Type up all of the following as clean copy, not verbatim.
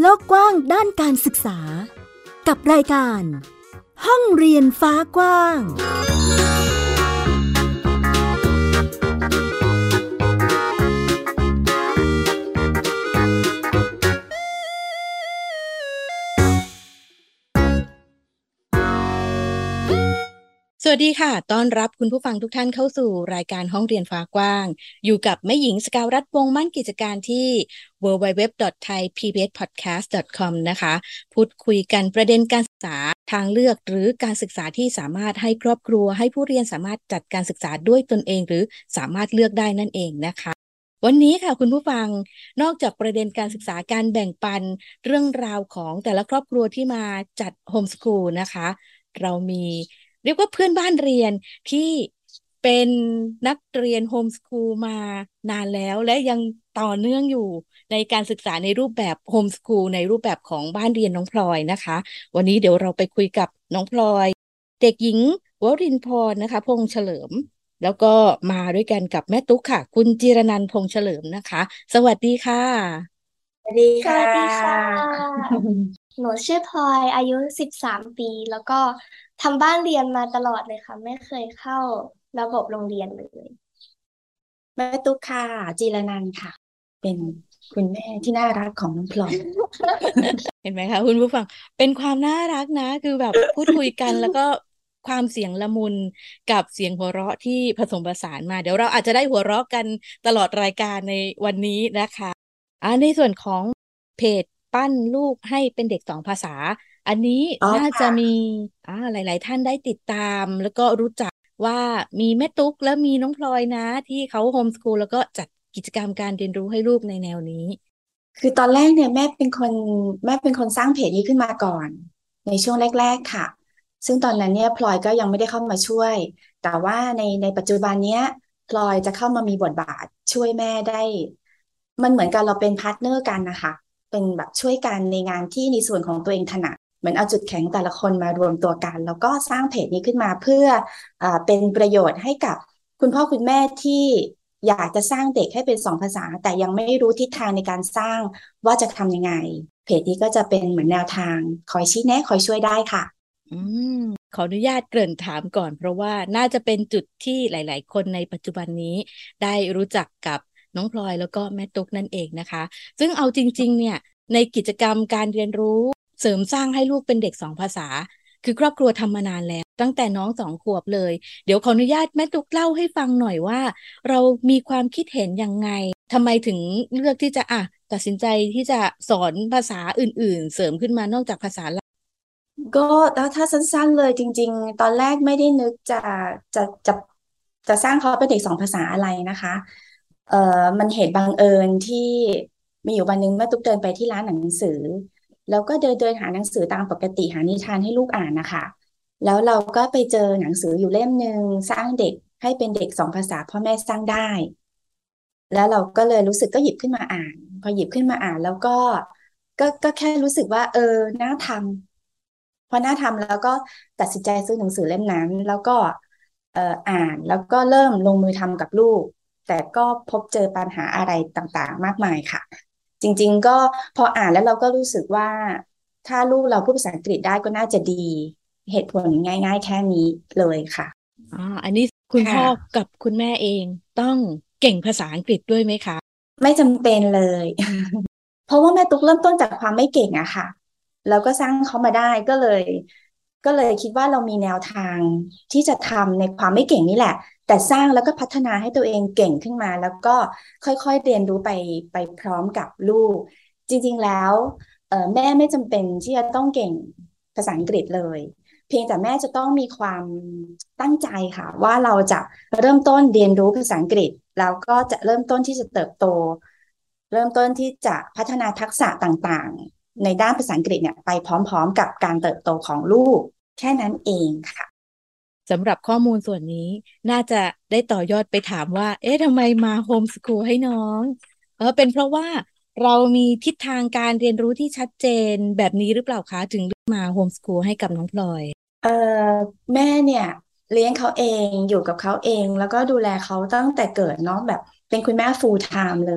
โลกกว้างด้านการศึกษากับรายการห้องเรียนฟ้ากว้างสวัสดีค่ะต้อนรับคุณผู้ฟังทุกท่านเข้าสู่รายการห้องเรียนฟ้ากว้างอยู่กับแม่หญิงสกาวรัตน์วงศ์มั่นกิจการที่ www.thaipbspodcast.com นะคะพูดคุยกันประเด็นการศึกษาทางเลือกหรือการศึกษาที่สามารถให้ครอบครัวให้ผู้เรียนสามารถจัดการศึกษาด้วยตนเองหรือสามารถเลือกได้นั่นเองนะคะวันนี้ค่ะคุณผู้ฟังนอกจากประเด็นการศึกษาการแบ่งปันเรื่องราวของแต่ละครอบครัวที่มาจัดโฮมสคูลนะคะเรามีเรียกว่าเพื่อนบ้านเรียนที่เป็นนักเรียนโฮมสคูลมานานแล้วและยังต่อเนื่องอยู่ในการศึกษาในรูปแบบโฮมสคูลในรูปแบบของบ้านเรียนน้องพลอยนะคะวันนี้เดี๋ยวเราไปคุยกับน้องพลอยเด็กหญิงวรินทร์พรนะคะพงษ์เฉลิมแล้วก็มาด้วยกันกับแม่ตุ๊กค่ะคุณจิรนันท์พงษ์เฉลิมนะคะสวัสดีค่ะสวัสดีสวัสดีค่ะหนูชื่อพลอยอายุ13 ปีแล้วก็ทำบ้านเรียนมาตลอดเลยค่ะไม่เคยเข้าระบบโรงเรียนเลยแม่ตุ๊กค่ะจีรนันท์ค่ะ เป็นคุณแม่ที่น่ารักของน้องพลอยเห็นไหมคะคุณผู้ฟังเป็นความน่ารักนะคือแบบพูดคุยกันแล้วก็ความเสียงละมุนกับเสียงหัวเราะที่ผสมผสานมาเดี๋ยวเราอาจจะได้หัวเราะกันตลอดรายการในวันนี้นะคะในส่วนของเพจปั้นลูกให้เป็นเด็ก2 ภาษาอันนี้อ๋อน่าจะค่ะมีหลายๆท่านได้ติดตามแล้วก็รู้จักว่ามีแม่ตุ๊กและมีน้องพลอยนะที่เขาโฮมสคูลแล้วก็จัดกิจกรรมการเรียนรู้ให้ลูกในแนวนี้คือตอนแรกเนี่ยแม่เป็นคนสร้างเพจนี้ขึ้นมาก่อนในช่วงแรกๆค่ะ ซึ่งตอนนั้นเนี่ยพลอยก็ยังไม่ได้เข้ามาช่วย แต่ว่าในปัจจุบันเนี้ยพลอยจะเข้ามามีบทบาทช่วยแม่ได้ มันเหมือนกันเราเป็นพาร์ทเนอร์กันนะคะเป็นแบบช่วยกันในงานที่ในส่วนของตัวเองถนัดเหมือนเอาจุดแข็งแต่ละคนมารวมตัวกันแล้วก็สร้างเพจนี้ขึ้นมาเพื่อเป็นประโยชน์ให้กับคุณพ่อคุณแม่ที่อยากจะสร้างเด็กให้เป็น2 ภาษาแต่ยังไม่รู้ทิศทางในการสร้างว่าจะทำยังไงเพจนี้ก็จะเป็นเหมือนแนวทางคอยชี้แนะคอยช่วยได้ค่ะอืมขออนุญาตเกริ่นถามก่อนเพราะว่าน่าจะเป็นจุดที่หลายๆคนในปัจจุบันนี้ได้รู้จักกับน้องพลอยแล้วก็แม่ตุ๊กนั่นเองนะคะซึ่งเอาจริงๆเนี่ยในกิจกรรมการเรียนรู้เสริมสร้างให้ลูกเป็นเด็ก2 ภาษาคือครอบครัวทำมานานแล้วตั้งแต่น้อง2 ขวบเลยเดี๋ยวขออนุญาตแม่ตุ๊กเล่าให้ฟังหน่อยว่าเรามีความคิดเห็นยังไงทำไมถึงเลือกที่จะตัดสินใจที่จะสอนภาษาอื่นๆเสริมขึ้นมานอกจากภาษาก็แล้วถ้าสั้นๆเลยจริงๆตอนแรกไม่ได้นึกจะจะจะสร้างเขาเป็นเด็ก2 ภาษาอะไรนะคะมันเหตุบังเอิญที่มีอยู่วันหนึ่งแม่ตุ๊กเดินไปที่ร้านหนังสือแล้วก็เดินหาหนังสือตามปกติหานิทานให้ลูกอ่านนะคะแล้วเราก็ไปเจอหนังสืออยู่เล่มหนึ่งสร้างเด็กให้เป็นเด็ก2 ภาษาพ่อแม่สร้างได้แล้วเราก็เลยรู้สึกก็หยิบขึ้นมาอ่านพอหยิบขึ้นมาอ่านแล้วก็แค่รู้สึกว่าน่าทำพอน่าทำแล้วก็ตัดสินใจซื้อหนังสือเล่มนั้นแล้วก็อ่านแล้วก็เริ่มลงมือทำกับลูกแต่ก็พบเจอปัญหาอะไรต่างๆมากมายค่ะจริงๆก็พออ่านแล้วเราก็รู้สึกว่าถ้าลูกเราพูดภาษาอังกฤษได้ก็น่าจะดีเหตุผลง่ายๆแค่นี้เลยค่ะอันนี้คุณค่ะพ่อกับคุณแม่เองต้องเก่งภาษาอังกฤษด้วยไหมคะไม่จำเป็นเลย เพราะว่าแม่ตุ๊กเริ่มต้นจากความไม่เก่งอะค่ะแล้วก็สร้างเขามาได้ก็เลยคิดว่าเรามีแนวทางที่จะทำในความไม่เก่งนี่แหละแต่สร้างแล้วก็พัฒนาให้ตัวเองเก่งขึ้นมาแล้วก็ค่อยๆเรียนรู้ไปพร้อมกับลูกจริงๆแล้วแม่ไม่จำเป็นที่จะต้องเก่งภาษาอังกฤษเลยเพียงแต่แม่จะต้องมีความตั้งใจค่ะว่าเราจะเริ่มต้นเรียนรู้ภาษาอังกฤษแล้วก็จะเริ่มต้นที่จะเติบโต เริ่มต้นที่จะพัฒนาทักษะต่างๆในด้านภาษาอังกฤษเนี่ยไปพร้อมๆกับการเติบโตของลูกแค่นั้นเองค่ะสำหรับข้อมูลส่วนนี้น่าจะได้ต่อยอดไปถามว่าเอ๊ะทำไมมาโฮมสคูลให้น้องเป็นเพราะว่าเรามีทิศทางการเรียนรู้ที่ชัดเจนแบบนี้หรือเปล่าคะถึงเลือกมาโฮมสคูลให้กับน้องพลอยแม่เนี่ยเลี้ยงเขาเองอยู่กับเขาเองแล้วก็ดูแลเขาตั้งแต่เกิดเนาะแบบเป็นคุณแม่ full time เลย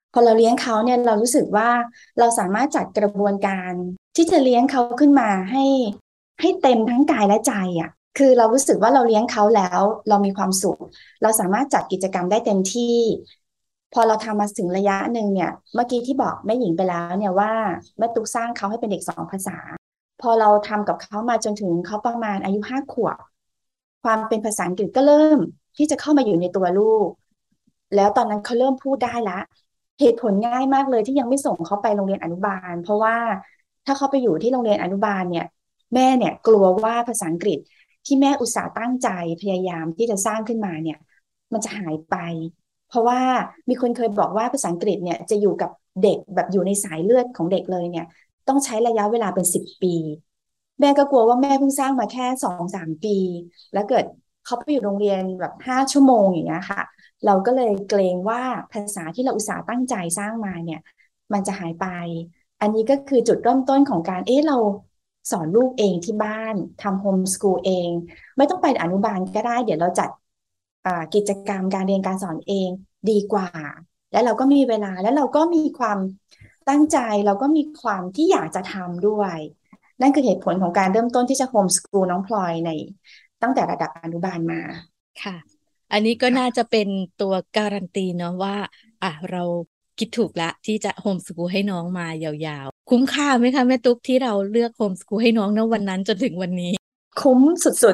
พอเราเลี้ยงเขาเนี่ยเรารู้สึกว่าเราสามารถจัดกระบวนการที่จะเลี้ยงเขาขึ้นมาให้เต็มทั้งกายและใจอ่ะคือเรารู้สึกว่าเราเลี้ยงเขาแล้วเรามีความสุขเราสามารถจัดกิจกรรมได้เต็มที่พอเราทำมาถึงระยะหนึ่งเนี่ยเมื่อกี้ที่บอกแม่หญิงไปแล้วเนี่ยว่าแม่ตุ๊กสร้างเขาให้เป็นเด็ก2 ภาษาพอเราทำกับเขามาจนถึงเขาประมาณอายุ5 ขวบความเป็นภาษาอังกฤษก็เริ่มที่จะเข้ามาอยู่ในตัวลูกแล้วตอนนั้นเขาเริ่มพูดได้ละเหตุผลง่ายมากเลยที่ยังไม่ส่งเขาไปโรงเรียนอนุบาลเพราะว่าถ้าเขาไปอยู่ที่โรงเรียนอนุบาลเนี่ยแม่เนี่ยกลัวว่าภาษาอังกฤษที่แม่อุตส่าห์ตั้งใจพยายามที่จะสร้างขึ้นมาเนี่ยมันจะหายไปเพราะว่ามีคนเคยบอกว่าภาษาอังกฤษเนี่ยจะอยู่กับเด็กแบบอยู่ในสายเลือดของเด็กเลยเนี่ยต้องใช้ระยะเวลาเป็น10 ปีแม่ก็กลัวว่าแม่เพิ่งสร้างมาแค่2-3 ปีแล้วเกิดเขาไปอยู่โรงเรียนแบบ5 ชั่วโมงอย่างเงี้ยค่ะเราก็เลยเกรงว่าภาษาที่เราอุตส่าห์ตั้งใจสร้างมาเนี่ยมันจะหายไปอันนี้ก็คือจุดเริ่มต้นของการเราสอนลูกเองที่บ้านทำโฮมสกูลเองไม่ต้องไปอนุบาลก็ได้เดี๋ยวเราจัดกิจกรรมการเรียนการสอนเองดีกว่าแล้วเราก็มีเวลาแล้วเราก็มีความตั้งใจเราก็มีความที่อยากจะทำด้วยนั่นคือเหตุผลของการเริ่มต้นที่จะโฮมสกูลน้องพลอยในตั้งแต่ระดับอนุบาลมาค่ะอันนี้ก็น่าจะเป็นตัวการันตีเนาะว่าเราคิดถูกละที่จะโฮมสกูลให้น้องมายาวๆคุ้มค่าไหมคะแม่ตุ๊กที่เราเลือกโฮมสกูลให้น้องณวันนั้นจนถึงวันนี้คุ้มสุด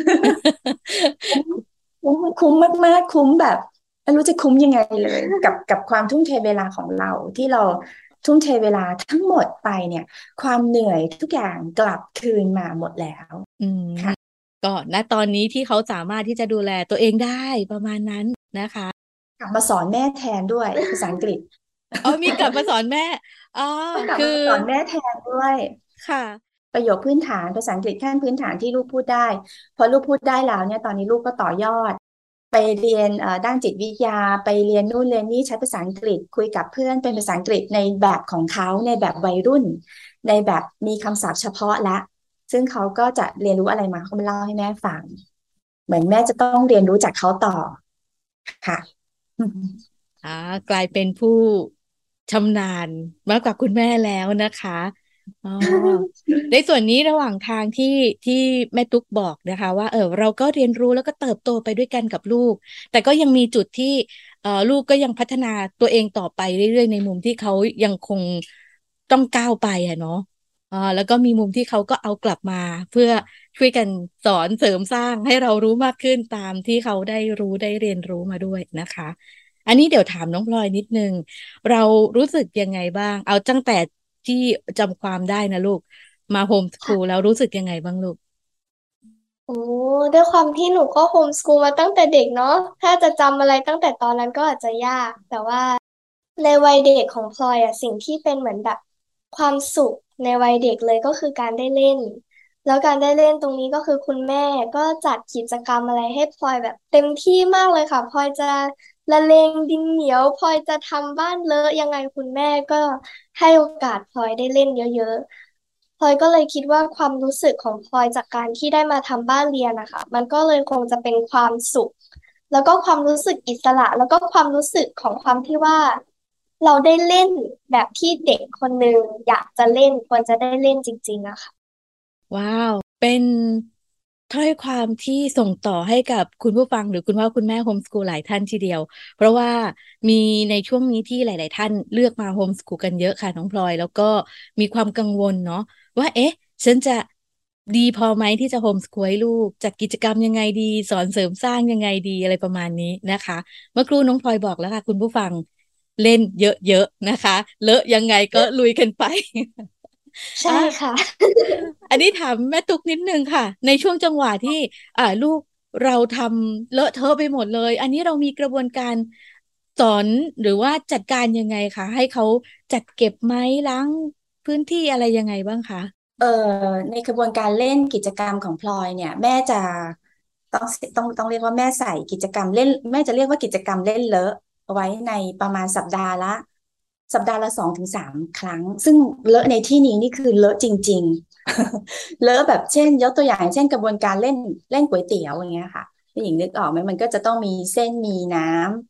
ๆ คุ้มมากๆคุ้มแบบไม่รู้จะคุ้มยังไงเลยกับความทุ่มเทเวลาของเราที่เราทุ่มเทเวลาทั้งหมดไปเนี่ยความเหนื่อยทุกอย่างกลับคืนมาหมดแล้วค่ะก็ณตอนนี้ที่เขาสามารถที่จะดูแลตัวเองได้ประมาณนั้นนะคะกลับมาสอนแม่แทนด้วยภาษาอังกฤษมีกลับมาสอนแม่กลับมาสอนแม่แทนด้วยค่ะประโยคพื้นฐานภาษาอังกฤษขั้นพื้นฐานที่ลูกพูดได้พอลูกพูดได้แล้วเนี่ยตอนนี้ลูกก็ต่อยอดไปเรียนด้านจิตวิทยาไปเรียนนู่นเรียนนี่ใช้ภาษาอังกฤษคุยกับเพื่อนเป็นภาษาอังกฤษในแบบของเขาในแบบวัยรุ่นในแบบมีคำศัพท์เฉพาะและซึ่งเขาก็จะเรียนรู้อะไรมาเขามาเล่าให้แม่ฟังเหมือนแม่จะต้องเรียนรู้จากเขาต่อค่ะกลายเป็นผู้ชำนาญมากกว่าคุณแม่แล้วนะคะในส่วนนี้ระหว่างทางที่แม่ตุ๊กบอกนะคะว่าเราก็เรียนรู้แล้วก็เติบโตไปด้วยกันกับลูกแต่ก็ยังมีจุดที่ลูกก็ยังพัฒนาตัวเองต่อไปเรื่อยๆในมุมที่เขายังคงต้องก้าวไปเนาะแล้วก็มีมุมที่เขาก็เอากลับมาเพื่อช่วยกันสอนเสริมสร้างให้เรารู้มากขึ้นตามที่เขาได้รู้ได้เรียนรู้มาด้วยนะคะอันนี้เดี๋ยวถามน้องพลอยนิดนึงเรารู้สึกยังไงบ้างเอาตั้งแต่ที่จำความได้นะลูกมาโฮมสคูลแล้วรู้สึกยังไงบ้างลูกโอ้ด้วยความที่หนูก็โฮมสกูลมาตั้งแต่เด็กเนาะถ้าจะจำอะไรตั้งแต่ตอนนั้นก็อาจจะยากแต่ว่าในวัยเด็กของพลอยสิ่งที่เป็นเหมือนแบบความสุขในวัยเด็กเลยก็คือการได้เล่นแล้วการได้เล่นตรงนี้ก็คือคุณแม่ก็จัดกิจกรรมอะไรให้พลอยแบบเต็มที่มากเลยค่ะพลอยจะละเลงดินเหนียวพลอยจะทำบ้านเลอะยังไงคุณแม่ก็ให้โอกาสพลอยได้เล่นเยอะๆพลอยก็เลยคิดว่าความรู้สึกของพลอยจากการที่ได้มาทำบ้านเรียนนะคะมันก็เลยคงจะเป็นความสุขแล้วก็ความรู้สึกอิสระแล้วก็ความรู้สึกของความที่ว่าเราได้เล่นแบบที่เด็กคนหนึ่งอยากจะเล่นควรจะได้เล่นจริงๆอะค่ะว้าวเป็นถ้อยความที่ส่งต่อให้กับคุณผู้ฟังหรือคุณพ่อคุณแม่โฮมสกูลหลายท่านทีเดียวเพราะว่ามีในช่วงนี้ที่หลายๆท่านเลือกมาโฮมสกูลกันเยอะค่ะน้องพลอยแล้วก็มีความกังวลเนาะว่าฉันจะดีพอไหมที่จะโฮมสกูลให้ลูกจัดกิจกรรมยังไงดีสอนเสริมสร้างยังไงดีอะไรประมาณนี้นะคะเมื่อครู่น้องพลอยบอกแล้วค่ะคุณผู้ฟังเล่นเยอะๆนะคะเลอะยังไงก็ลุยกันไปใช่ค่ะอันนี้ถามแม่ตุ๊กนิดนึงค่ะในช่วงจังหวะที่ลูกเราทำเลอะเทอะไปหมดเลยอันนี้เรามีกระบวนการสอนหรือว่าจัดการยังไงคะให้เขาจัดเก็บไหมล้างพื้นที่อะไรยังไงบ้างคะเอ่อในกระบวนการเล่นกิจกรรมของพลอยเนี่ยแม่จะต้องต้องเรียกว่าแม่ใส่กิจกรรมเล่นแม่จะเรียกว่ากิจกรรมเล่นเลอะเอาไว้ในประมาณสัปดาห์ละ2 ถึง 3 ครั้งซึ่งเลอะในที่นี้นี่คือเลอะจริงๆเลอะแบบเช่นยกตัวอย่างเช่นกระบวนการเล่นก๋วยเตี๋ยวอย่างเงี้ยค่ะพี่หญิงนึกออกไหมมันก็จะต้องมีเส้นมีน้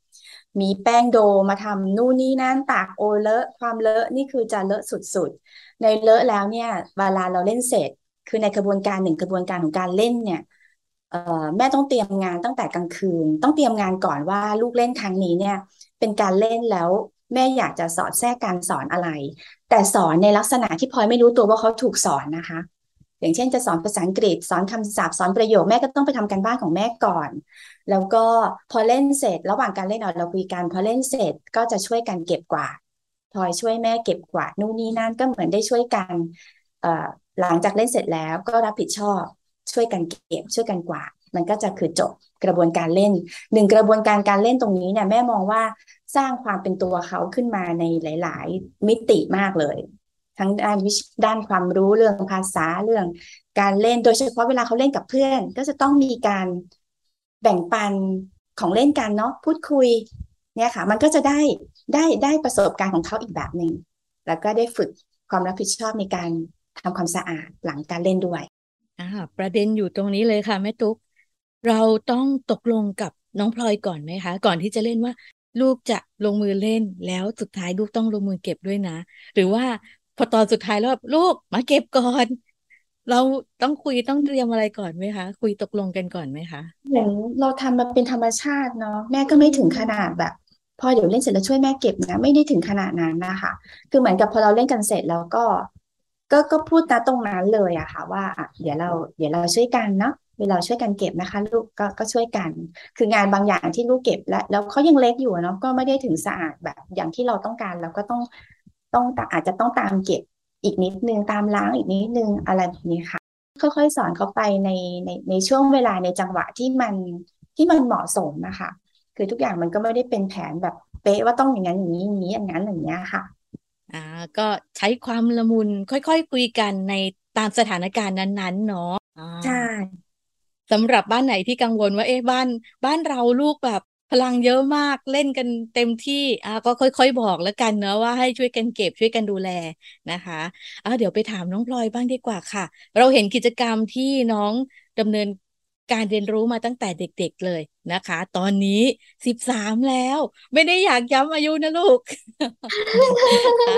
มีแป้งโดมาทำนู่นนี่นั่นตากโอเลอะความเลอะนี่คือจะเลอะสุดๆในเลอะแล้วเนี่ยเวลาเราเล่นเสร็จคือในกระบวนการหนึ่งกระบวนการของการเล่นเนี่ยแม่ต้องเตรียมงานตั้งแต่กลางคืนต้องเตรียมงานก่อนว่าลูกเล่นครั้งนี้เนี่ยเป็นการเล่นแล้วแม่อยากจะสอดแทรกการสอนอะไรแต่สอนในลักษณะที่พลอยไม่รู้ตัวว่าเขาถูกสอนนะคะอย่างเช่นจะสอนภาษาอังกฤษสอนคำศัพท์สอนประโยคแม่ก็ต้องไปทำการบ้านของแม่ก่อน แล้วก็พอเล่นเสร็จระหว่างการเล่นเราคุยกันพอเล่นเสร็จก็จะช่วยกันเก็บกวาดพลอยช่วยแม่เก็บกวาดนู่นนี่นั่นก็เหมือนได้ช่วยกันเอ่อหลังจากเล่นเสร็จแล้วก็รับผิดชอบช่วยกันเก็บช่วยกันกวาดมันก็จะคือจบกระบวนการเล่นหนึ่งกระบวนการการเล่นตรงนี้เนี่ยแม่มองว่าสร้างความเป็นตัวเขาขึ้นมาในหลายๆมิติมากเลยทั้งด้านความรู้เรื่องภาษาเรื่องการเล่นโดยเฉพาะเวลาเขาเล่นกับเพื่อนก็จะต้องมีการแบ่งปันของเล่นกันเนาะพูดคุยเนี่ยค่ะมันก็จะได้ประสบการณ์ของเขาอีกแบบหนึ่งแล้วก็ได้ฝึกความรับผิดชอบในการทำความสะอาดหลังการเล่นด้วยอ่าประเด็นอยู่ตรงนี้เลยค่ะแม่ตุ๊กเราต้องตกลงกับน้องพลอยก่อนไหมคะก่อนที่จะเล่นว่าลูกจะลงมือเล่นแล้วสุดท้ายลูกต้องลงมือเก็บด้วยนะหรือว่าพอตอนสุดท้ายแล้วแบบลูกมาเก็บก่อนเราต้องคุยต้องเตรียมอะไรก่อนไหมคะคุยตกลงกันก่อนไหมคะเหมือนเราทำมาเป็นธรรมชาติเนาะแม่ก็ไม่ถึงขนาดแบบพอเดี๋ยวเล่นเสร็จแล้วช่วยแม่เก็บนะไม่ได้ถึงขนาดนั้นนะคะคือเหมือนกับพอเราเล่นกันเสร็จแล้วก็พูดนะตรงนั้นเลยอะค่ะว่าอ่ะเดี๋ยวเราช่วยกันเนาะเวลาช่วยกันเก็บนะคะลูกก็ช่วยกันคืองานบางอย่างที่ลูกเก็บแล้วเขายังเล็กอยู่เนาะก็ไม่ได้ถึงสะอาดแบบอย่างที่เราต้องการเราก็ต้องอาจจะต้องตามเก็บอีกนิดนึงตามล้างอีกนิดนึงอะไรแบบนี้ค่ะ ค่อยๆสอนเขาไปในช่วงเวลาในจังหวะที่มันเหมาะสมนะคะคือทุกอย่างมันก็ไม่ได้เป็นแผนแบบเป๊ะว่าต้องอย่างนั้นอย่างนี้อย่างนี้อย่างนั้นอย่างนี้ยค่ะอ่าก็ใช้ความละมุนค่อยๆคุยกันในตามสถานการณ์นั้นๆเนาะใช่สำหรับบ้านไหนที่กังวลว่าเอ๊ะบ้านเราลูกแบบพลังเยอะมากเล่นกันเต็มที่ก็ค่อยๆบอกแล้วกันเนอะว่าให้ช่วยกันเก็บช่วยกันดูแลนะคะเดี๋ยวไปถามน้องพลอยบ้างดีกว่าค่ะเราเห็นกิจกรรมที่น้องดำเนินการเรียนรู้มาตั้งแต่เด็กๆเลยนะคะตอนนี้13แล้วไม่ได้อยากย้ำอายุนะลูก อ่า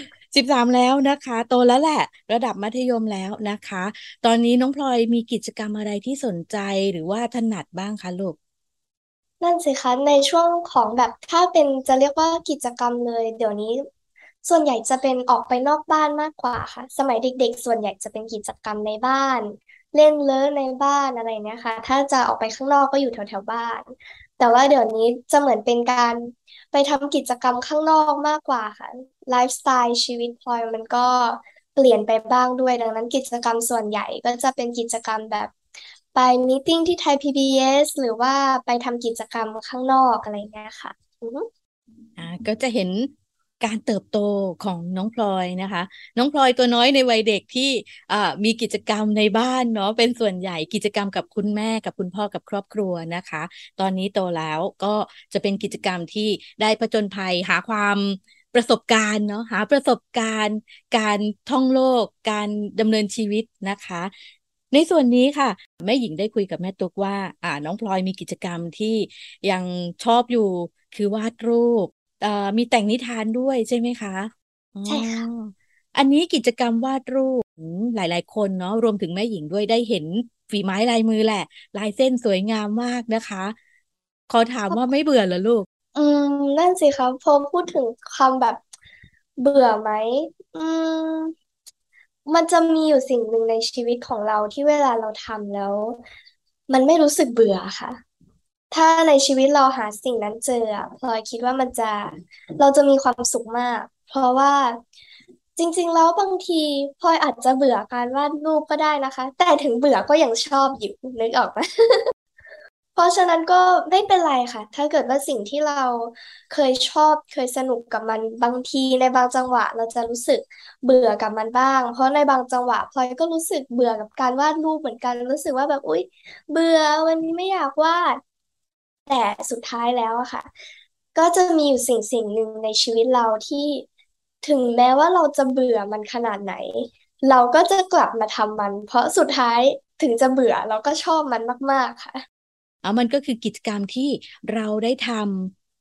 13แล้วนะคะโตแล้วแหละระดับมัธยมแล้วนะคะตอนนี้น้องพลอยมีกิจกรรมอะไรที่สนใจหรือว่าถนัดบ้างคะลูกนั่นสิคะในช่วงของแบบถ้าเป็นจะเรียกว่ากิจกรรมเลยเดี๋ยวนี้ส่วนใหญ่จะเป็นออกไปนอกบ้านมากกว่าค่ะสมัยเด็กๆส่วนใหญ่จะเป็นกิจกรรมในบ้านเล่นเลอะในบ้านอะไรเนี่ยค่ะถ้าจะออกไปข้างนอกก็อยู่แถวๆบ้านแต่ว่าเดี๋ยวนี้จะเหมือนเป็นการไปทำกิจกรรมข้างนอกมากกว่าค่ะไลฟ์สไตล์ชีวิตพลอยมันก็เปลี่ยนไปบ้างด้วยดังนั้นกิจกรรมส่วนใหญ่ก็จะเป็นกิจกรรมแบบ ไปมีตติ้งที่ไทย PBS หรือว่าไปทำกิจกรรมข้างนอกอะไรเงี้ยค่ะอือฮึก็จะเห็นการเติบโตของน้องพลอยนะคะน้องพลอยตัวน้อยในวัยเด็กที่อ่ามีกิจกรรมในบ้านเนาะเป็นส่วนใหญ่กิจกรรมกับคุณแม่กับคุณพ่อกับครอบครัวนะคะตอนนี้โตแล้วก็จะเป็นกิจกรรมที่ได้ผจญภัยหาความประสบการณ์เนาะหาประสบการณ์การท่องโลกการดำเนินชีวิตนะคะในส่วนนี้ค่ะแม่หญิงได้คุยกับแม่ตุ๊กว่าน้องพลอยมีกิจกรรมที่ยังชอบอยู่คือวาดรูป มีแต่งนิทานด้วยใช่ไหมคะอ๋อใช่ค่ะอันนี้กิจกรรมวาดรูปหลายๆคนเนาะรวมถึงแม่หญิงด้วยได้เห็นฝีไม้ลายมือแหละลายเส้นสวยงามมากนะคะขอถามว่าไม่เบื่อเหรอลูกอืมนั่นสิคะพอพูดถึงคำแบบเบื่อไหมอืมมันจะมีอยู่สิ่งหนึ่งในชีวิตของเราที่เวลาเราทำแล้วมันไม่รู้สึกเบื่อค่ะ ถ้าในชีวิตเราหาสิ่งนั้นเจออะพลอยคิดว่าเราจะมีความสุขมากเพราะว่าจริงๆแล้วบางทีพลอยอาจจะเบื่อการวาดรูปก็ได้นะคะแต่ถึงเบื่อก็ยังชอบอยู่นึกออกไหม เพราะฉะนั้นก็ไม่เป็นไรค่ะ ถ้าเกิดว่าสิ่งที่เราเคยชอบเคยสนุกกับมันบางทีในบางจังหวะเราจะรู้สึกเบื่อกับมันบ้าง เพราะในบางจังหวะพลอยก็รู้สึกเบื่อกับการวาดรูปเหมือนกันรู้สึกว่าแบบอุ๊ยเบื่อวันนี้ไม่อยากวาด แต่สุดท้ายแล้วอะค่ะก็จะมีอยู่สิ่งหนึ่งในชีวิตเราที่ถึงแม้ว่าเราจะเบื่อมันขนาดไหนเราก็จะกลับมาทำมันเพราะสุดท้ายถึงจะเบื่อเราก็ชอบมันมากๆค่ะมันก็คือกิจกรรมที่เราได้ท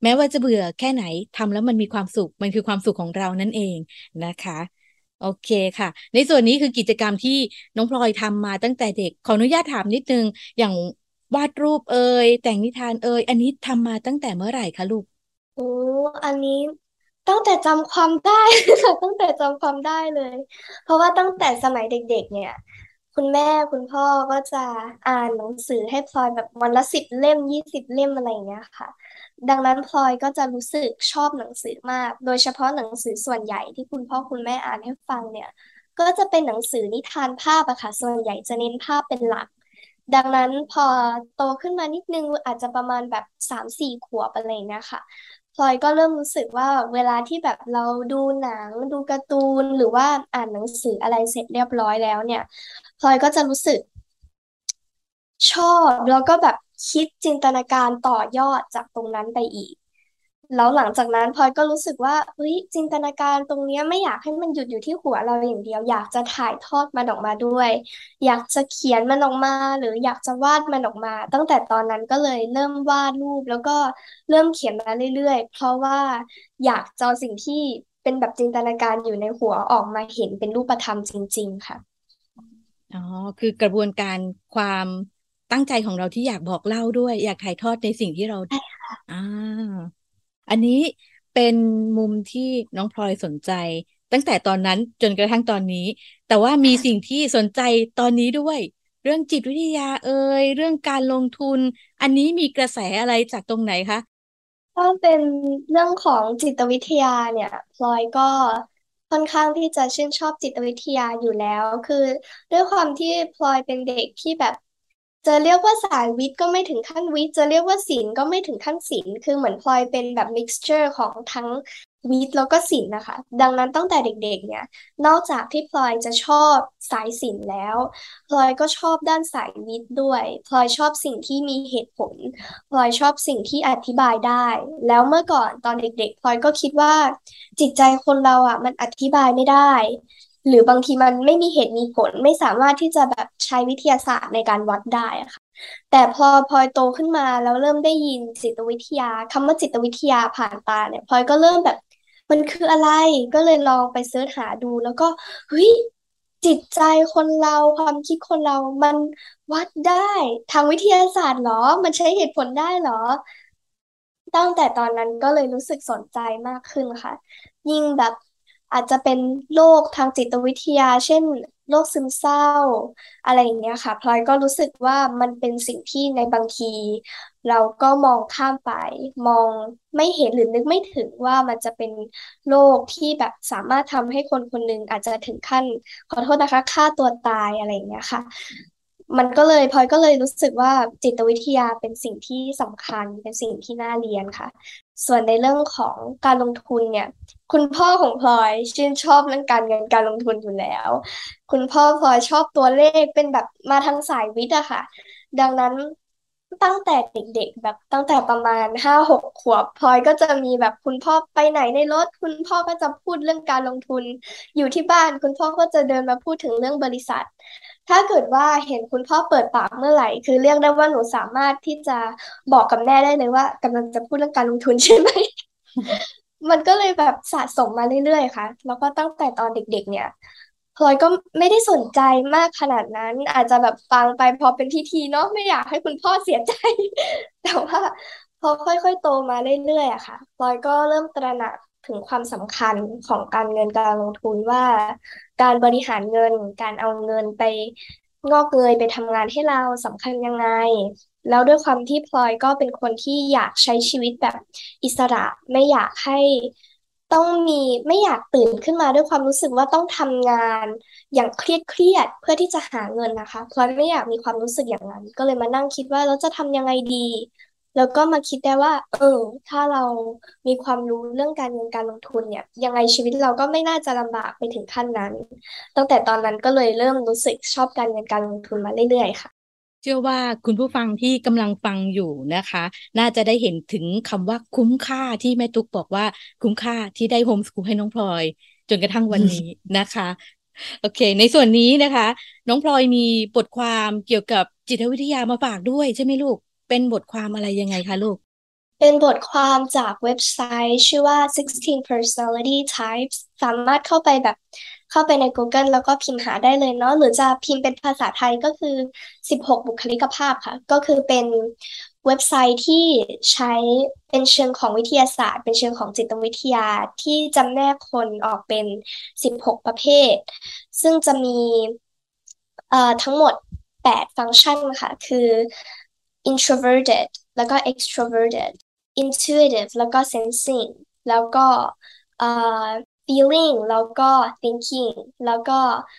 แม้ว่าจะเบื่อแค่ไหนทำแล้วมันมีความสุขมันคือความสุขของเรานั่นเองนะคะโอเคค่ะในส่วนนี้คือกิจกรรมที่น้องพลอยทำมาตั้งแต่เด็กขออนุญาตถามนิดนึงอย่างวาดรูปแต่งนิทานอันนี้ทำมาตั้งแต่เมื่อไหร่คะลูกโอ้อันนี้ตั้งแต่จำความได้ค่ะตั้งแต่จำความได้เลย เพราะว่าตั้งแต่สมัยเด็กๆเนี่ยคุณแม่คุณพ่อก็จะอ่านหนังสือให้พลอยแบบวันละ10 เล่ม20 เล่มอะไรอย่างเงี้ยค่ะดังนั้นพลอยก็จะรู้สึกชอบหนังสือมากโดยเฉพาะหนังสือส่วนใหญ่ที่คุณพ่อคุณแม่อ่านให้ฟังเนี่ยก็จะเป็นหนังสือนิทานภาพอะค่ะส่วนใหญ่จะเน้นภาพเป็นหลัก ดังนั้นพอโตขึ้นมานิดนึงอาจจะประมาณแบบ3-4 ขวบอะไรอย่างเงี้ยค่ะพลอยก็เริ่มรู้สึกว่าเวลาที่แบบเราดูหนังดูการ์ตูนหรือว่าอ่านหนังสืออะไรเสร็จเรียบร้อยแล้วเนี่ยพลอยก็จะรู้สึก ชอบแล้วก็แบบคิดจินตนาการต่อยอดจากตรงนั้นไปอีกแล้วหลังจากนั้นพลอยก็รู้สึกว่าเฮ้ยจินตนาการตรงเนี้ยไม่อยากให้มันหยุดอยู่ที่หัวเราอย่างเดียวอยากจะถ่ายทอดมันออกมาด้วยอยากจะเขียนมันออกมาหรืออยากจะวาดมันออกมาตั้งแต่ตอนนั้นก็เลยเริ่มวาดรูปแล้วก็เริ่มเขียนมาเรื่อยๆเพราะว่าอยากจะเอาสิ่งที่เป็นแบบจินตนาการอยู่ในหัวออกมาเห็นเป็นรูปธรรมจริงๆค่ะอ๋อคือกระบวนการความตั้งใจของเราที่อยากบอกเล่าด้วยอยากถ่ายทอดในสิ่งที่เราอ่า อันนี้เป็นมุมที่น้องพลอยสนใจตั้งแต่ตอนนั้นจนกระทั่งตอนนี้แต่ว่ามีสิ่งที่สนใจตอนนี้ด้วยเรื่องจิตวิทยาเรื่องการลงทุนอันนี้มีกระแสอะไรจากตรงไหนคะถ้าเป็นเรื่องของจิตวิทยาเนี่ยพลอยก็ค่อนข้างที่จะชื่นชอบจิตวิทยาอยู่แล้วคือด้วยความที่พลอยเป็นเด็กที่แบบจะเรียกว่าสายวิทย์ก็ไม่ถึงขั้นวิทย์จะเรียกว่าศิลป์ก็ไม่ถึงขั้นศิลป์คือเหมือนพลอยเป็นแบบ mixture ของทั้งวิทย์แล้วก็ศิลป์นะคะดังนั้นตั้งแต่เด็กๆเนี่ยนอกจากที่พลอยจะชอบสายศิลป์แล้วพลอยก็ชอบด้านสายวิทย์ด้วยพลอยชอบสิ่งที่มีเหตุผล พลอยชอบสิ่งที่อธิบายได้ แล้วเมื่อก่อนตอนเด็กๆพลอยก็คิดว่าจิตใจคนเราอ่ะมันอธิบายไม่ได้ หรือบางทีมันไม่มีเหตุมีผลไม่สามารถที่จะแบบใช้วิทยาศาสตร์ในการวัดได้อะค่ะแต่พอพลอยโตขึ้นมาแล้วเริ่มได้ยินจิตวิทยาคำว่าจิตวิทยาผ่านตาเนี่ยพลอยก็เริ่มแบบมันคืออะไรก็เลยลองไปเสิร์ชหาดูแล้วก็เฮ้ยจิตใจคนเราความคิดคนเรามันวัดได้ทางวิทยาศาสตร์เหรอมันใช้เหตุผลได้เหรอ ตั้งแต่ตอนนั้นก็เลยรู้สึกสนใจมากขึ้นค่ะยิ่งแบบอาจจะเป็นโรคทางจิตวิทยาเช่นโรคซึมเศร้าอะไรอย่างเงี้ยค่ะพลอยก็รู้สึกว่ามันเป็นสิ่งที่ในบางทีเราก็มองข้ามไปมองไม่เห็นหรือนึกไม่ถึงว่ามันจะเป็นโรคที่แบบสามารถทำให้คนคนหนึ่งอาจจะถึงขั้นขอโทษนะคะฆ่าตัวตายอะไรอย่างเงี้ยค่ะ มันก็เลยพลอยก็เลยรู้สึกว่าจิตวิทยาเป็นสิ่งที่สำคัญเป็นสิ่งที่น่าเรียนค่ะส่วนในเรื่องของการลงทุนเนี่ยคุณพ่อของพลอยชื่นชอบเรื่องการเงินการลงทุนอยู่แล้วคุณพ่อพลอยชอบตัวเลขเป็นแบบมาทางสายวิทย์อะค่ะดังนั้นตั้งแต่เด็กๆแบบตั้งแต่ประมาณ5-6 ขวบพลอยก็จะมีแบบคุณพ่อไปไหนในรถคุณพ่อก็จะพูดเรื่องการลงทุนอยู่ที่บ้านคุณพ่อก็จะเดินมาพูดถึงเรื่องบริษัท ถ้าเกิดว่าเห็นคุณพ่อเปิดปากเมื่อไหร่คือเรียกได้ว่าหนูสามารถที่จะบอกกับแม่ได้เลยว่ากำลังจะพูดเรื่องการลงทุนใช่ไหม มันก็เลยแบบสะสมมาเรื่อยๆค่ะแล้วก็ตั้งแต่ตอนเด็กๆเนี่ยพลอยก็ไม่ได้สนใจมากขนาดนั้นอาจจะแบบฟังไปพอเป็นพิธีเนาะไม่อยากให้คุณพ่อเสียใจแต่ว่าพอค่อยๆโตมาเรื่อยๆอะค่ะพลอยก็เริ่มตระหนักถึงความสำคัญของการเงินการลงทุนว่าการบริหารเงินการเอาเงินไปงอกเงยไปทำงานให้เราสำคัญยังไง แล้วด้วยความที่พลอยก็เป็นคนที่อยากใช้ชีวิตแบบอิสระไม่อยากให้ต้องมีไม่อยากตื่นขึ้นมาด้วยความรู้สึกว่าต้องทำงานอย่างเครียดเพื่อที่จะหาเงินนะคะพลอยไม่อยากมีความรู้สึกอย่างนั้นก็เลยมานั่งคิดว่าเราจะทำยังไงดีแล้วก็มาคิดได้ว่าถ้าเรามีความรู้เรื่องการเงินการลงทุนเนี่ยยังไงชีวิตเราก็ไม่น่าจะลำบากไปถึงขั้นนั้นตั้งแต่ตอนนั้นก็เลยเริ่มรู้สึกชอบการเงินการลงทุนมาเรื่อยๆค่ะเชื่อว่าคุณผู้ฟังที่กำลังฟังอยู่นะคะน่าจะได้เห็นถึงคำว่าคุ้มค่าที่แม่ตุ๊กบอกว่าคุ้มค่าที่ได้โฮมสกูลให้น้องพลอยจนกระทั่งวันนี้นะคะโอเคในส่วนนี้นะคะน้องพลอยมีบทความเกี่ยวกับจิตวิทยามาฝากด้วยใช่ไหมลูกเป็นบทความอะไรยังไงคะลูกเป็นบทความจากเว็บไซต์ชื่อว่า 16 Personality Types สามารถเข้าไปใน Google แล้วก็พิมพ์หาได้เลยเนาะหรือจะพิมพ์เป็นภาษาไทยก็คือ16บุคลิกภาพค่ะก็คือเป็นเว็บไซต์ที่ใช้เป็นเชิงของวิทยาศาสตร์เป็นเชิงของจิตวิทยาที่จำแนกคนออกเป็น16ประเภทซึ่งจะมีทั้งหมด8ฟังก์ชันค่ะคือ introverted แล้วก็ extroverted intuitive แล้วก็ sensing แล้วก็feeling แล้วก็ thinking แล้วก็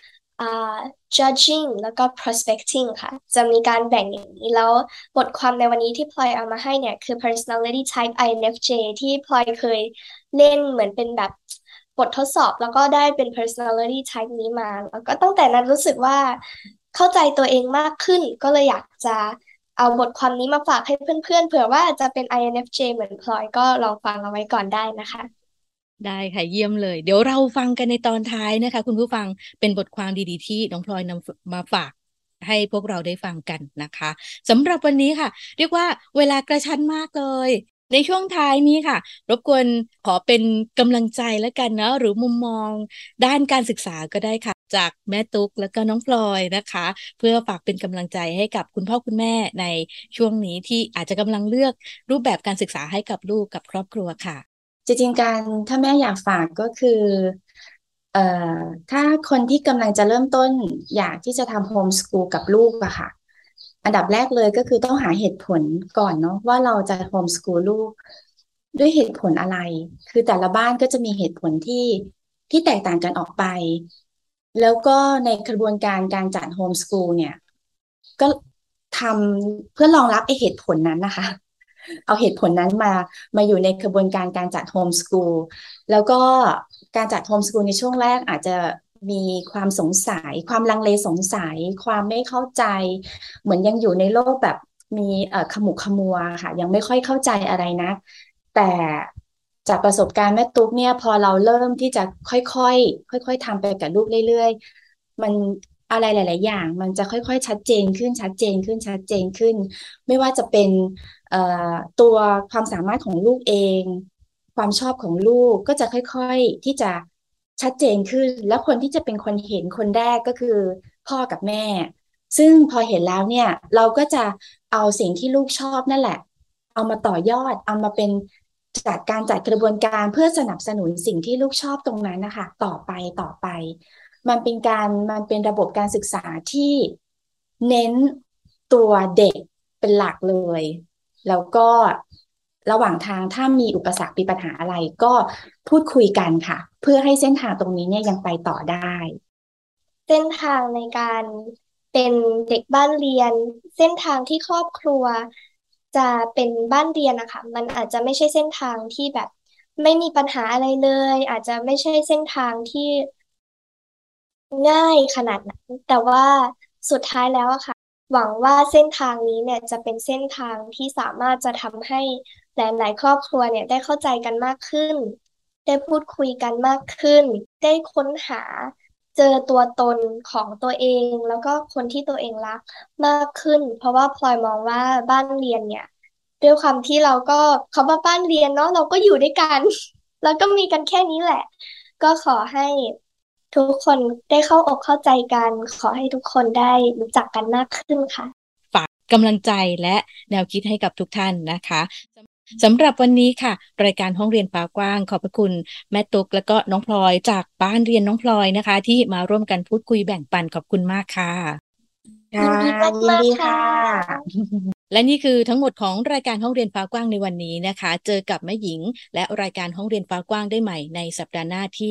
judging แล้วก็ prospecting ค่ะจะมีการแบ่งอย่างนี้แล้วบทความในวันนี้ที่พลอยเอามาให้เนี่ยคือ personality type INFJ ที่พลอยเคยเล่นเหมือนเป็นแบบบททดสอบแล้วก็ได้เป็น personality type นี้มาแล้วก็ตั้งแต่นั้นรู้สึกว่าเข้าใจตัวเองมากขึ้นก็เลยอยากจะเอาบทความนี้มาฝากให้เพื่อนๆเผื่อว่าจะเป็น INFJ เหมือนพลอยก็ลองฟังเอาไว้ก่อนได้นะคะได้ค่ะเยี่ยมเลยเดี๋ยวเราฟังกันในตอนท้ายนะคะคุณผู้ฟังเป็นบทความดีๆที่น้องพลอยนำมาฝากให้พวกเราได้ฟังกันนะคะสำหรับวันนี้ค่ะเรียกว่าเวลากระชั้นมากเลยในช่วงท้ายนี้ค่ะรบกวนขอเป็นกำลังใจแล้วกันเนาะหรือมุมมองด้านการศึกษาก็ได้ค่ะจากแม่ตุ๊กแล้วก็น้องพลอยนะคะเพื่อฝากเป็นกำลังใจให้กับคุณพ่อคุณแม่ในช่วงนี้ที่อาจจะกำลังเลือกรูปแบบการศึกษาให้กับลูกกับครอบครัวค่ะจริงๆถ้าแม่อยากฝากก็คือเอ่อถ้าคนที่กำลังจะเริ่มต้นอยากที่จะทำโฮมสกูลกับลูกอะค่ะอันดับแรกเลยก็คือต้องหาเหตุผลก่อนเนาะว่าเราจะโฮมสกูลลูกด้วยเหตุผลอะไรคือแต่ละบ้านก็จะมีเหตุผลที่แตกต่างกันออกไปแล้วก็ในกระบวนการการจัดโฮมสกูลเนี่ยก็ทำเพื่อรองรับไอเหตุผลนั้นนะคะ เอาเหตุผลนั้นมาอยู่ในกระบวนการการจัดโฮมสกูลแล้วก็การจัดโฮมสกูลในช่วงแรกอาจจะมีความสงสัยความลังเลสงสัยความไม่เข้าใจเหมือนยังอยู่ในโลกแบบมีขมุกขมัวค่ะยังไม่ค่อยเข้าใจอะไรนะแต่จากประสบการณ์แม่ตุ๊กเนี่ยพอเราเริ่มที่จะค่อยๆทำไปกับลูกเรื่อยๆมันอะไรหลายๆอย่างมันจะค่อยๆชัดเจนขึ้นชัดเจนขึ้นชัดเจนขึ้นไม่ว่าจะเป็นตัวความสามารถของลูกเองความชอบของลูกก็จะค่อยๆที่จะชัดเจนขึ้นแล้วคนที่จะเป็นคนเห็นคนแรกก็คือพ่อกับแม่ซึ่งพอเห็นแล้วเนี่ยเราก็จะเอาสิ่งที่ลูกชอบนั่นแหละเอามาต่อยอดเอามาเป็นการจัดกระบวนการเพื่อสนับสนุนสิ่งที่ลูกชอบตรงนั้นนะคะต่อไปมันเป็นระบบการศึกษาที่เน้นตัวเด็กเป็นหลักเลยแล้วก็ระหว่างทางถ้ามีอุปสรรคมีปัญหาอะไรก็พูดคุยกันค่ะเพื่อให้เส้นทางตรงนี้เนี่ยยังไปต่อได้เส้นทางในการเป็นเด็กบ้านเรียนเส้นทางที่ครอบครัวจะเป็นบ้านเรียนนะคะมันอาจจะไม่ใช่เส้นทางที่แบบไม่มีปัญหาอะไรเลยอาจจะไม่ใช่เส้นทางที่ง่ายขนาดนั้นแต่ว่าสุดท้ายแล้วอะค่ะหวังว่าเส้นทางนี้เนี่ยจะเป็นเส้นทางที่สามารถจะทำให้หลายๆครอบครัวเนี่ยได้เข้าใจกันมากขึ้นได้พูดคุยกันมากขึ้นได้ค้นหาเจอตัวตนของตัวเองแล้วก็คนที่ตัวเองรักมากขึ้นเพราะว่าพลอยมองว่าบ้านเรียนเนี่ยด้วยความที่เราก็เขาว่าบ้านเรียนเนาะเราก็อยู่ด้วยกันแล้วก็มีกันแค่นี้แหละก็ขอให้ ทุกคนได้เข้าอกเข้าใจกันขอให้ทุกคนได้รู้จักกันมากขึ้นค่ะฝากกำลังใจและแนวคิดให้กับทุกท่านนะคะสำหรับวันนี้ค่ะรายการห้องเรียนฟ้ากว้างขอบพระคุณแม่ตุ๊กและก็น้องพลอยจากบ้านเรียนน้องพลอยนะคะที่มาร่วมกันพูดคุยแบ่งปันขอบคุณมากค่ะยินดีมากๆค่ะและนี่คือทั้งหมดของรายการห้องเรียนฟ้ากว้างในวันนี้นะคะเจอกับแม่หญิงและรายการห้องเรียนฟ้ากว้างได้ใหม่ในสัปดาห์หน้าที่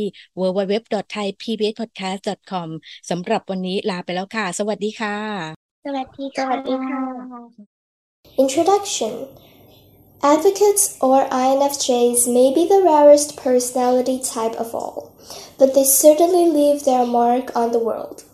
www.thaipbspodcast.com สำหรับวันนี้ลาไปแล้วค่ะสวัสดีค่ะสวัสดีค่ะ Introduction Advocates or INFJs may be the rarest personality type of all, but they certainly leave their mark on the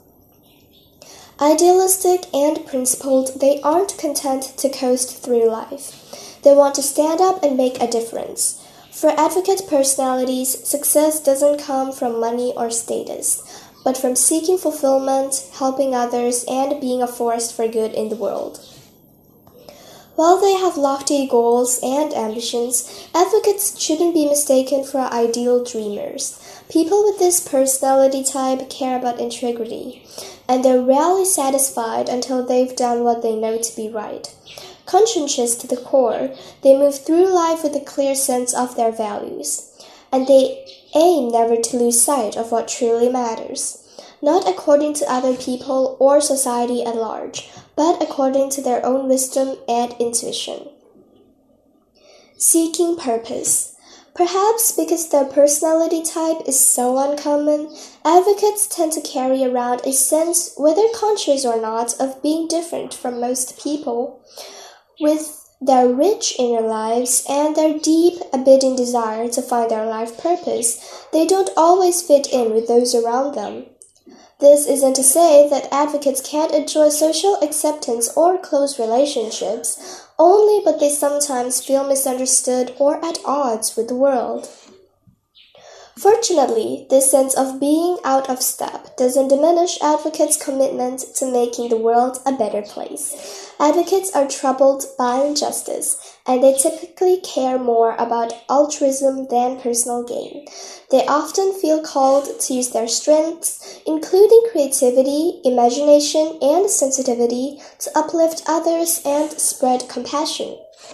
world.Idealistic and principled, they aren't content to coast through life. They want to stand up and make a difference. For advocate personalities, success doesn't come from money or status, but from seeking fulfillment, helping others, and being a force for good in the world. While they have lofty goals and ambitions, advocates shouldn't be mistaken for ideal dreamers. People with this personality type care about integrity, and they're rarely satisfied until they've done what they know to be right. Conscientious to the core, they move through life with a clear sense of their values, and they aim never to lose sight of what truly matters, not according to other people or society at large, but according to their own wisdom and intuition. Seeking purpose. Perhaps because their personality type is so uncommon, advocates tend to carry around a sense, whether conscious or not, of being different from most people. With their rich inner lives and their deep, abiding desire to find their life purpose, they don't always fit in with those around them. This isn't to say that advocates can't enjoy social acceptance or close relationships, only but they sometimes feel misunderstood or at odds with the world. Fortunately, this sense of being out of step doesn't diminish advocates' commitment to making the world a better place. Advocates are troubled by injustice, and they typically care more about altruism than personal gain. They often feel called to use their strengths, including creativity, imagination, and sensitivity, to uplift others and spread compassion.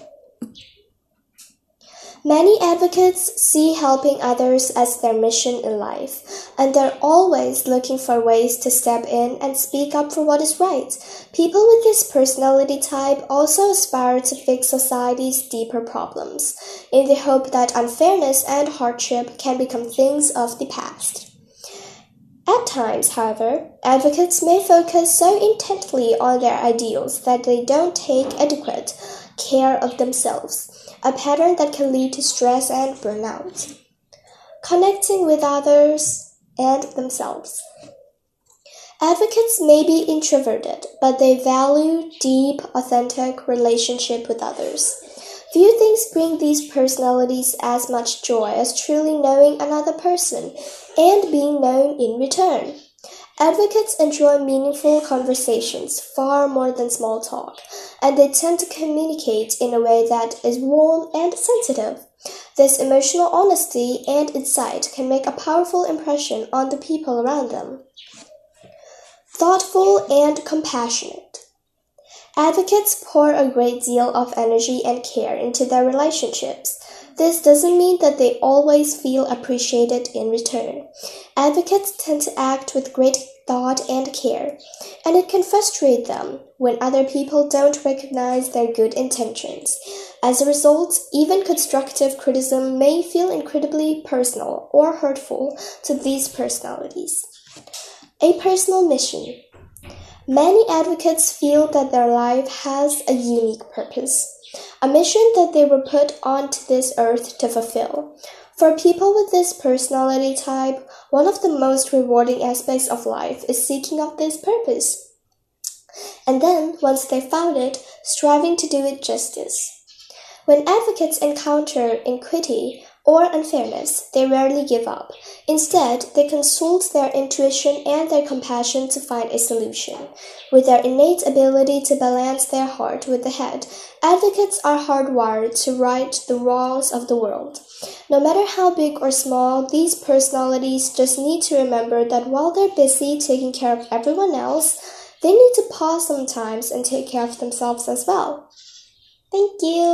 Many advocates see helping others as their mission in life, and they're always looking for ways to step in and speak up for what is right. People with this personality type also aspire to fix society's deeper problems, in the hope that unfairness and hardship can become things of the past. At times, however, advocates may focus so intently on their ideals that they don't take adequate care of themselves, a pattern that can lead to stress and burnout. Connecting with others and themselves. Advocates may be introverted, but they value deep, authentic relationship with others. Few things bring these personalities as much joy as truly knowing another person and being known in return. Advocates enjoy meaningful conversations far more than small talk, and they tend to communicate in a way that is warm and sensitive. This emotional honesty and insight can make a powerful impression on the people around them. Thoughtful and compassionate. Advocates pour a great deal of energy and care into their relationships. This doesn't mean that they always feel appreciated in return. Advocates tend to act with great thought and care, and it can frustrate them when other people don't recognize their good intentions. As a result, even constructive criticism may feel incredibly personal or hurtful to these personalities. A personal mission. Many advocates feel that their life has a unique purpose, a mission that they were put onto this earth to fulfill. For people with this personality type, one of the most rewarding aspects of life is seeking out this purpose. And then, once they've found it, striving to do it justice. When advocates encounter iniquity or unfairness, they rarely give up. Instead, they consult their intuition and their compassion to find a solution. With their innate ability to balance their heart with the head, advocates are hardwired to right the wrongs of the world. No matter how big or small, these personalities just need to remember that while they're busy taking care of everyone else, they need to pause sometimes and take care of themselves as well. Thank you.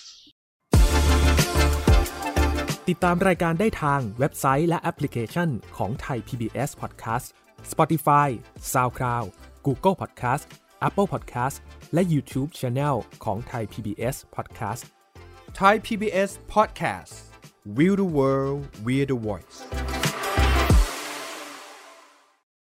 ติดตามรายการได้ทางเว็บไซต์และแอปพลิเคชันของ Thai PBS Podcast, Spotify, SoundCloud, Google Podcast, Apple Podcast และ YouTube Channel ของ Thai PBS Podcast Thai PBS Podcast We the World We the Voice